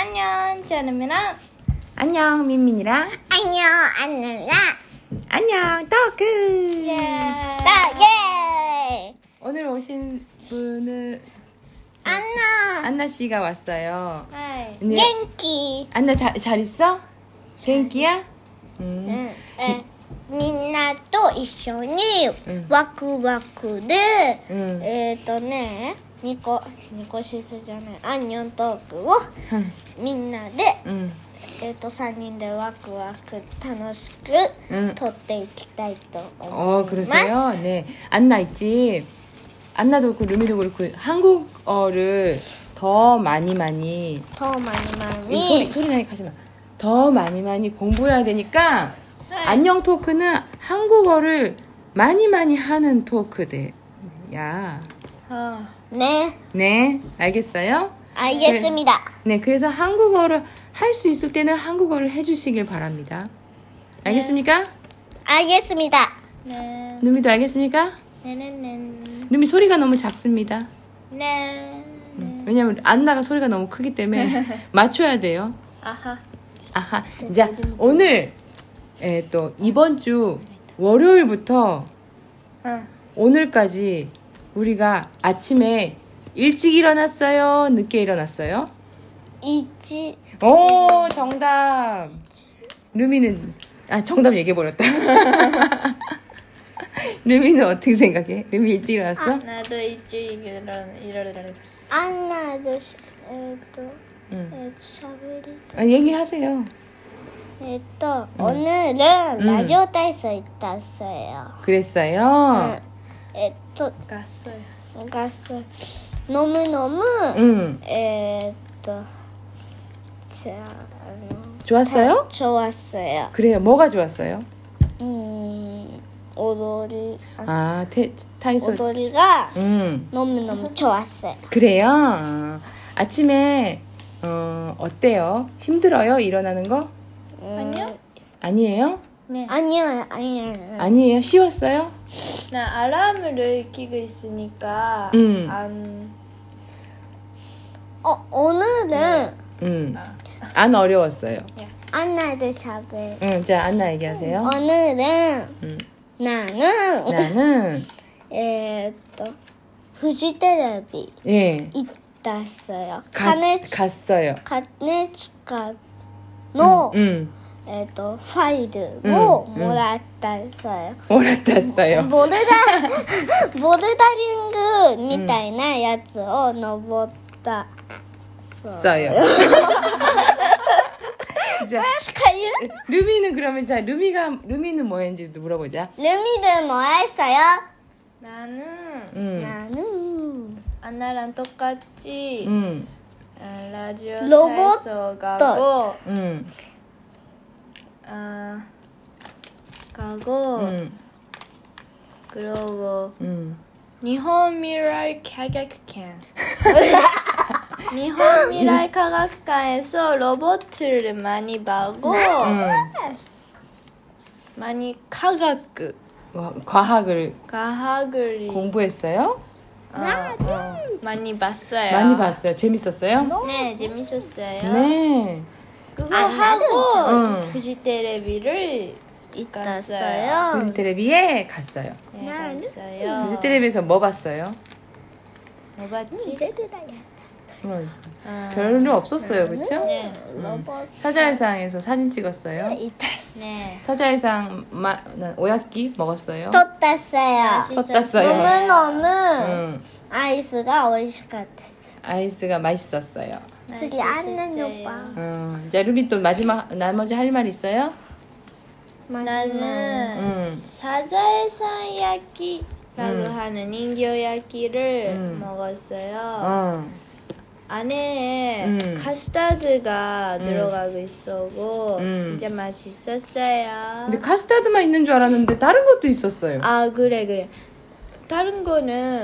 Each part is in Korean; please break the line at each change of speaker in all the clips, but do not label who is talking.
안녕, 짜르미랑.
안녕, 민민이랑.
안녕, 안녕,
안녕, 떡크.
예.
예.
오늘 오신 분은
안나,
안나 씨가 왔어요.
하이.
네.
겐키.
안나 잘 있어? 겐키야?
응.みんなと一緒に
うん
ワクワクで、
うん
ニコシスじゃないアンニョントークをみんなで、
うん
3人でワクワク楽しく
うん
撮っていきたいと思います。
그러세요? 네. 안나 있지. 안나도 그렇고 루미도 그렇고 한국어를 더 많이
とまにまに
소리 나게 하지 마. 더 많이 공부해야 되니까 안녕 토크는 한국어를 많이 하는 토크들. 야.
ね、
네, 알겠어요?
알겠습니다.
네, 그래서 한국어를 할 수 있을 때는 한국어를 해주시길 바랍니다. 알겠습니까?
알겠습니다.
네.
누미도 알겠습니까?
네네네.
누미 소리가 너무 작습니다.
네.
왜냐면 안나가 소리가 너무 크기 때문에 맞춰야 돼요.
아하.
아하. 자, 오늘 또 이번 주 월요일부터
응.
오늘까지 우리가 아침에 일찍 일어났어요? 늦게 일어났어요?
이지
오, 정답. 루미는 정답 얘기해버렸다. 루미는 어떻게 생각해? 루미 일찍 일어났어?
나도 일찍 일어나랬어.
안나도
응.
샤베리
얘기하세요.
오늘은 라디오体操 있었어요.
그랬어요?
갔어요.
갔어요. 너무너무
응. 좋았어요?
좋았어요.
그래요. 뭐가 좋았어요? 타이소.
오도리가
응.
너무너무 좋았어요.
그래요? 아침에 어때요? 힘들어요? 일어나는 거?
아니요?
아니에요?
네.
아니요.
아니에요? 쉬웠어요?
나 알람을 켜고 있으니까 안
오늘은
안 어려웠어요.
안나도 샤베.
응, 자, 안나 얘기하세요.
오늘은
응.
나는
나는
후지텔레비
예
있었어요.
갔어요.
카네치카の 파일을 몰았어요.
몰랐어요.
보르다링 みたいなやつを登った。
써요. 자, 루미는 그러면 자 루미는 뭐 했는지 물어보자.
루미는 뭐 했어요?
나는 안나랑 똑같이 라디오
로봇
타이소 가고 그리고 일본 미래 과학관 일본 미래 과학관에서 로봇을 많이 보고 많이 과학을
공부했어요?
많이 봤어요.
많이 봤어요. 재밌었어요?
네, 재밌었어요.
네.
그거 하고 후지텔레비를 갔어요.
후지텔레비에 갔어요.
네, 갔어요.
후지텔레비에서 뭐 봤어요?
뭐 봤지?
별로 없었어요, 그렇죠?
네.
사자일상에서 사진 찍었어요.
네.
사자일상 오야끼 먹었어요.
떴어요.
떴어요.
너무너무 아이스가 美味しかった.
아이스가 맛있었어요.
次안는 오빠.
자, 루비 또 나머지 할 말 있어요?
나는 사자일상 야끼라고 하는 인形 야끼를 먹었어요. 안에 카스타드가 들어가고 있었고 진짜 맛있었어요.
근데 카스타드만 있는 줄 알았는데 다른 것도 있었어요.
그래. 다른 거는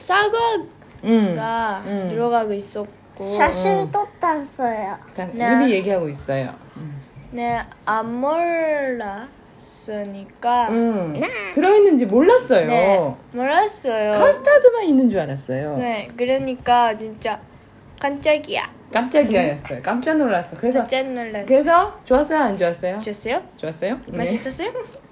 사과가 들어가고 있었고.
사진 떴어요.
루비 얘기하고 있어요.
네, 안 몰랐으니까.
들어있는지 몰랐어요.
네, 몰랐어요.
카스타드만 있는 줄 알았어요.
네, 그러니까 진짜 깜짝이야.
깜짝이야였어요. 깜짝 놀랐어. 그래서
깜짝 놀랐어.
그래서 좋았어요, 안 좋았어요?
좋았어요?
좋았어요?
맛있었어요?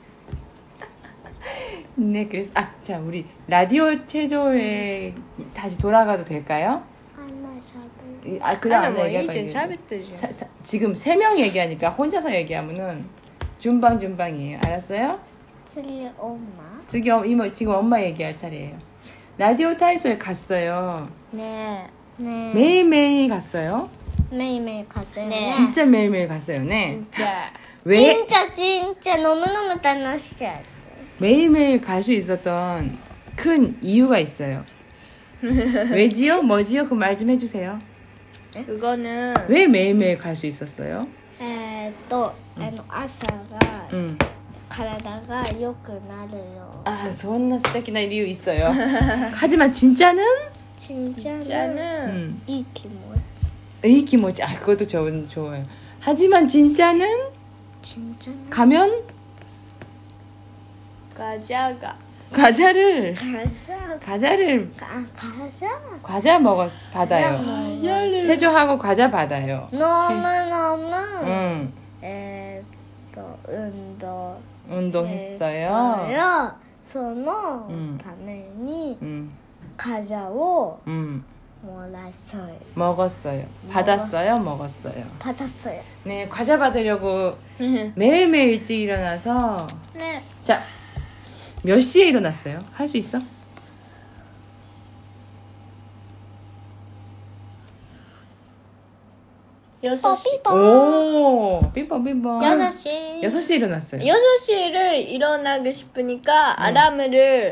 네, 그래서 자, 우리 라디오 체조에 다시 돌아가도 될까요? 그냥
아니, 뭐
얘기할
이제
거예요.
샤베트지.
지금 3명 얘기하니까 혼자서 얘기하면은 준방이에요. 알았어요?
틀리 엄마.
지금 엄마 얘기할 차례예요. 라디오 타이소에 갔어요.
네.
네.
매일매일 갔어요.
매일매일 갔어요.
네.
진짜 매일매일 갔어요. 네.
진짜.
왜
진짜 너무너무楽しかった.
매일매일 갈 수 있었던 큰 이유가 있어요. 왜지요? 뭐지요? 그 말 좀 해주세요.
그거는
왜 매일매일 갈 수 있었어요?
朝が
응.
体が良くなるよ.
존나 스테키나 이유 있어요. 하지만 진짜는?
진짜는
이 기모치.
이 기모지. 그것도 좋아요. 하지만 진짜는? 가면? 과자를 과자 받아요. 체조하고 과자 받아요.
너무너무
응. 운동했어요.
そのために
응.
과자を
응.
먹었어요.
받았어요. 먹었어요.
받았어요.
네, 과자 받으려고 매일매일 일찍 일어나서
네.
자, 몇 시에 일어났어요? 할 수 있어?
여섯 시.
오, 삐뻔.
6시.
6시에 일어났어요.
6시를 일어나고 싶으니까 알람을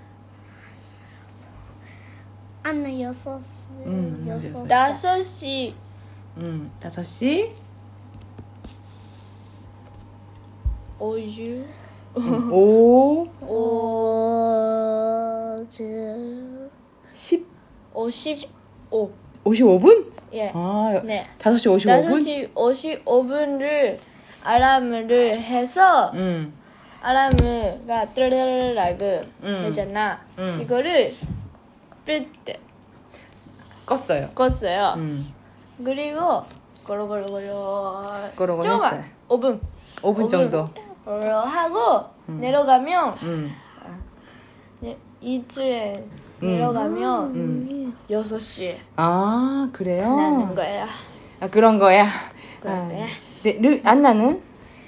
안나 6시.
5시
5시?
50.
5, 10,
55.
55분?
예. 네.
5시 55분?
5시 55분을 알람을 해서 알람가 뜨르르르라고 하잖아. 이거를 삐때
껐어요.
껐어요. 그리고
고로고로
조금만
했어요.
5분
정도.
하고 내려가면 이틀에 내려가면 6시
그래요?
나는 거야.
그런 거야.
그래.
네, 안나는?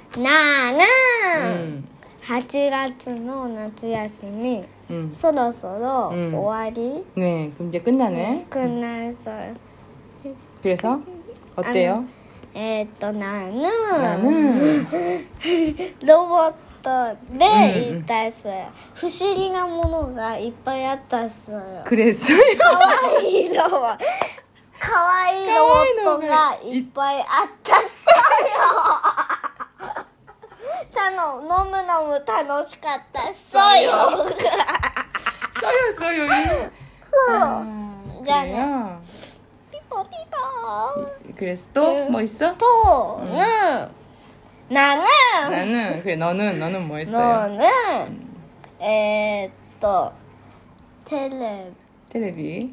나는 8月の夏休み そろそろ終わり
네, 그럼 이제 끝나네.
끝났어요.
그래서 어때요?
나는 ロボットで行ったっすよ。不思議なものがいっぱいあったっすよ。
그랬어요?
かわいいロボットがいっぱいあったっすよ。너무楽しかったっすよ。
써요.
じゃあね。
그래요?
피ポ。
그래서 또 뭐 있어? 나는 그래 너는 뭐 했어요?
너는
텔레비에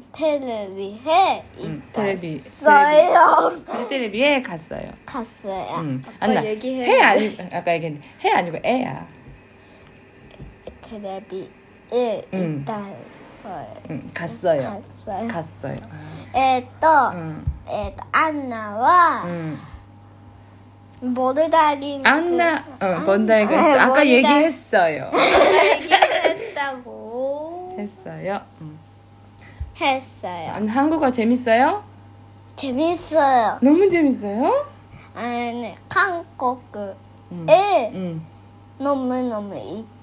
텔레비에 갔어요. 안나 해 아니 아까 얘기했는데 해 아니고 애야.
텔레비에
갔어요.
안나와 보르다리
안나 뭔다리가 있어. 아까 얘기했어요. 했어요. 한국어 재밌어요?
재밌어요.
너무 재밌어요?
네, 한국에 너무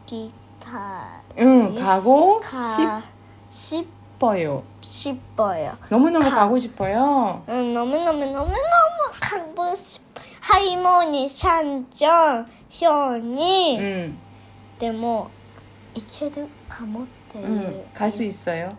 가고 싶어요. 너무너무 가고 싶어요.
너무너무 가고 싶어요. 할머니 산전 현이 でも行けるかもっていう
갈 수 있어요.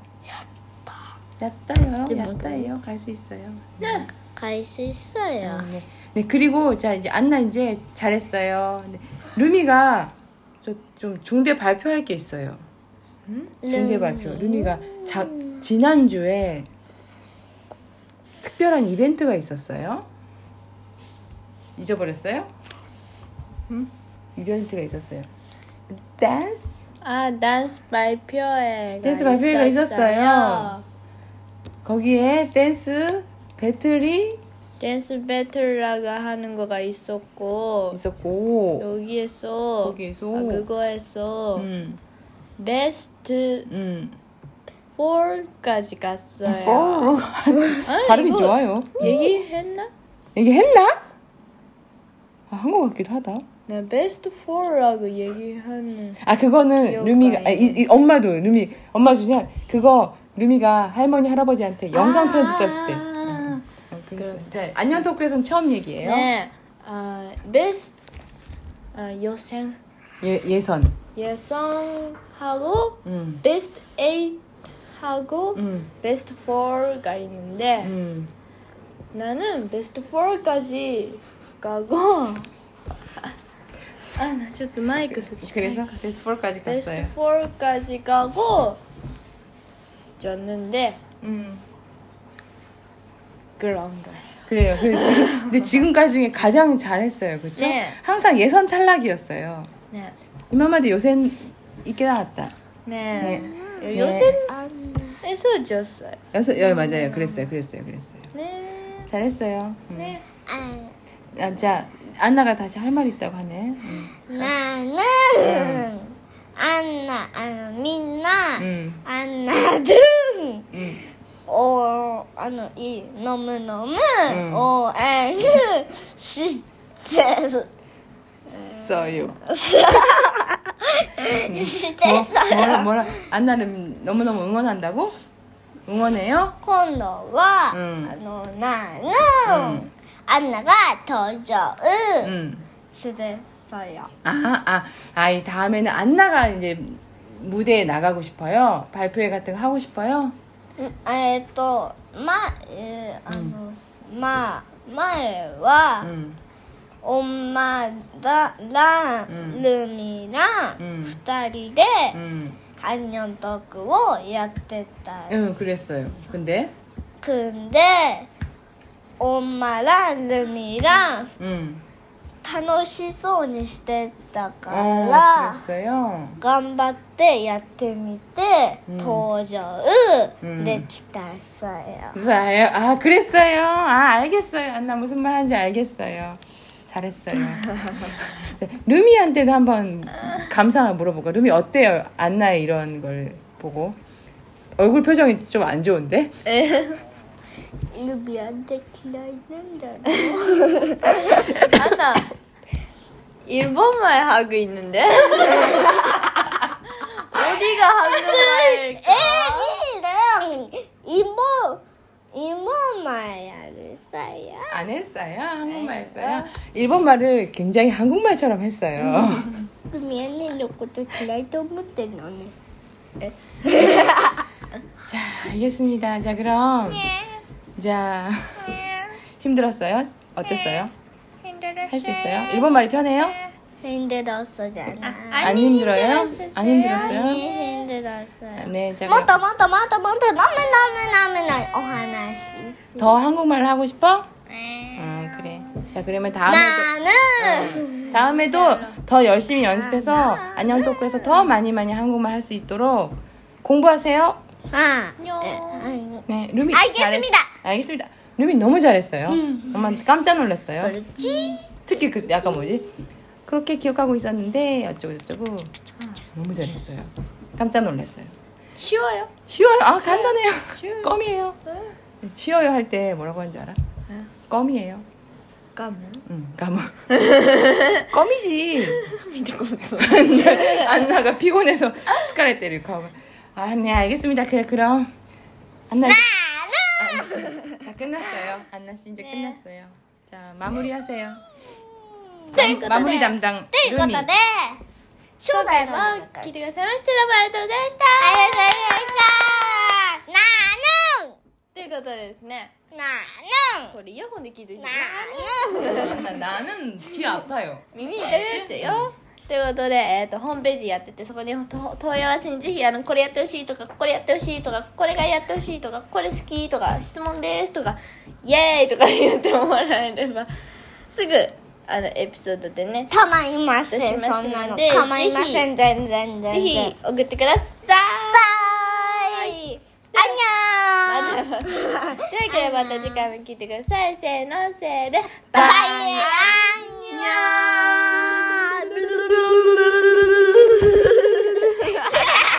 야따요. 갈 수 있어요.
네, 갈 수 있어요.
네, 그리고 자 이제 안나 이제 잘했어요. 네, 루미가 좀 중대 발표할 게 있어요. 중대 발표. 루미가 지난주에 특별한 이벤트가 있었어요. 잊어버렸어요? 응? 이벤트가 있었어요. 댄스?
댄스 발표회가
댄스 발표회가 있었어요. 거기에 댄스 배틀이
댄스 배틀라가 하는 거가 있었고
거기에서
그거에서 베스트 4까지 갔어요.
발음이 좋아요.
얘기했나?
한 것 같기도 하다.
네, 베스트 4라고 얘기하는.
그거는 루미가 엄마도 엄마 주세요. 그거 루미가 할머니 할아버지한테 영상 편지 썼을 때. 자, 안녕 토크에서는 처음 얘기예요.
네, 베스트 예선 예선하고 베스트 8하고 베스트 4가 있는데 나는 베스트 4까지 가고 나ちょっとマイク
그래서 베스트 4까지 갔어요.
베스트 4까지 가고 졌는데 그런 거예요.
그래요. 근데 지금까지 중에 가장 잘했어요. 그렇죠?
네.
항상 예선 탈락이었어요.
네.
이맘마도 요샌 있게 나왔다.
네. 요샌에서 졌어요.
맞아요. 그랬어요.
네.
잘했어요.
네.
자, 안나가 다시 할 말 있다고 하네.
나는 민나 안나등 너무너무 오해를 시대로
시대어요. 뭐라 안나를 너무너무 응원한다고? 응원해요?
今度は나는 안나가 더 좋은 시대였어요.
이 다음에는 안나가 이제 무대에 나가고 싶어요? 발표회 같은 거 하고 싶어요?
前は엄마랑 루미랑 2人で 안녕 토크をやってた.
그랬어요. 근데 엄마랑 루미랑 楽しそうにしてたから 그랬어요.
頑張ってやってみて登場できた어요.
그랬어요. 알겠어요. 안나 무슨 말 하는지 알겠어요. 잘했어요. 루미한테도 한번 감상을 물어볼까? 루미 어때요? 안나의 이런 걸 보고 얼굴 표정이 좀 안 좋은데?
루미한테 기다리는다.
안나 일본말 하고 있는데? 어디가 한국말일까?
애기랑 일본말 했어요.
안 했어요? 한국말 했어요? 일본말을 굉장히 한국말처럼 했어요.
루미 언니のこと嫌いと思ってんのね.
자, 알겠습니다. 자, 그럼 자, 힘들었어요? 어땠어요? 할 수 있어요? 일본말이 편해요?
힘들었어잖아.
안 힘들어요? 안 힘들었어요?
힘들었어요.
네, 자,
もっともっとなめお話
더 한국말을 하고 싶어? 그래. 자, 그러면 다음에도 더 열심히 연습해서 안녕 토크에서 더 많이 한국말 할 수 있도록 공부하세요. 네, 루미
알겠습니다.
알겠습니다. 루미 너무 잘했어요. 엄마 깜짝 놀랐어요.
그렇지?
특히 약간 그렇게 기억하고 있었는데 어쩌고 너무 잘했어요. 깜짝 놀랐어요.
쉬워요?
간단해요. 껌이에요. 쉬워요 할 때 뭐라고 하는 줄 알아? 껌이에요.
까무?
까무. 껌이지. 안나가 피곤해서 스카레떼를 가면. 네, 알겠습니다. 그럼 안나 다 끝났어요. 안나 씨 이제 끝났어요. 자, 마무리하세요. 마무리 담당
ということで、初
今回
代の
も聞いてくださいましてどうもありがとうございました
ありがとうございました。
ということでですね
な
これイヤホンで聞いてる人
ー
나는 귀 아파요.
耳痛くなっちゃうよということで、ホームページやってて、そこに問い合わせにぜひこれやってほしいとか、これやってほしいとか、これがやってほしいとか、これ好きとか、質問ですとか、イエーイとか言ってもらえればすぐエピソードでね
構いません、
します
そんなの
ので、
構いません、全然
ぜひ送ってください。
アンニョー
というわけでまた次回も聞いてください。せーのせーで
バイバイ